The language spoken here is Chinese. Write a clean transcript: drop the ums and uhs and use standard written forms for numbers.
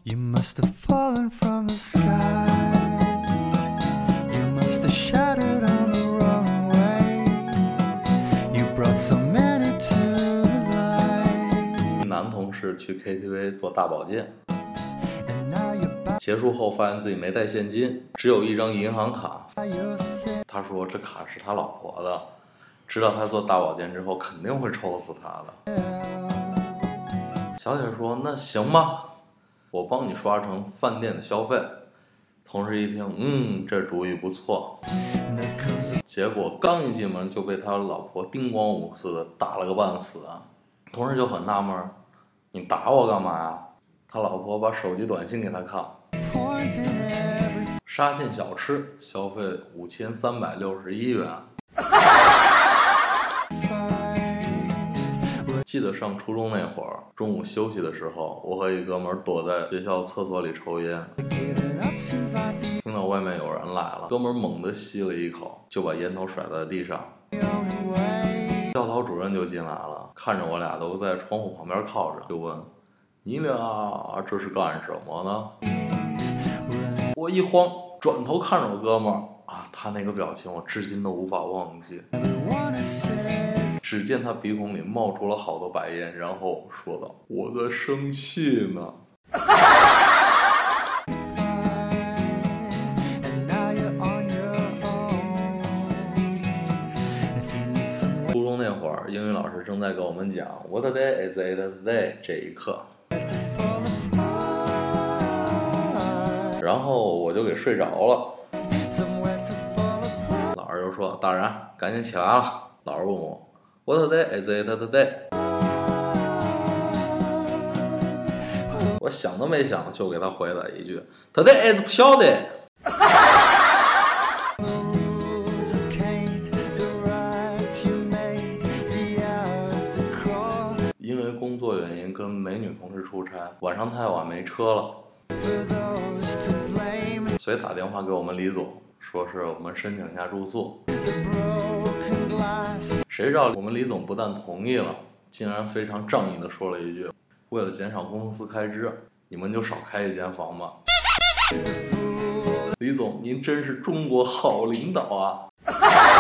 You must have fallen from the sky. You must have shattered on the wrong way. You brought so many to the light. 男同事去 KTV 做大保健， And now you're back 结束后发现自己没带现金，只有一张银行卡。 by your side. 他说这卡是他老婆的，知道他做大保健之后肯定会抽死他的。小姐说那行吧，我帮你刷成饭店的消费。同事一听，这主意不错。结果刚一进门就被他老婆叮咣五似的打了个半死啊！同事就很纳闷，你打我干嘛呀？他老婆把手机短信给他看，沙县小吃消费5361元。记得上初中那会儿，中午休息的时候，我和一哥们儿躲在学校厕所里抽烟，听到外面有人来了，哥们儿猛地吸了一口，就把烟头甩在地上。教导主任就进来了，看着我俩都在窗户旁边靠着，就问：“你俩这是干什么呢？”我一慌，转头看着我哥们儿啊，他那个表情我至今都无法忘记。只见他鼻孔里冒出了好多白烟，然后说道：“我在生气呢。”初中那会儿，英语老师正在给我们讲 "What day is it today" 这一课，然后我就给睡着了。老师就说：“大人，赶紧起来了。”老师问我 "What day is it today"？ 我想都没想就给他回了一句 "Today is 不晓得"。因为工作原因跟美女同事出差，晚上太晚没车了，所以打电话给我们李总，说是我们申请一下住宿。谁知道我们李总不但同意了，竟然非常仗义的说了一句：“为了减少公司开支，你们就少开一间房吧。”李总，您真是中国好领导啊！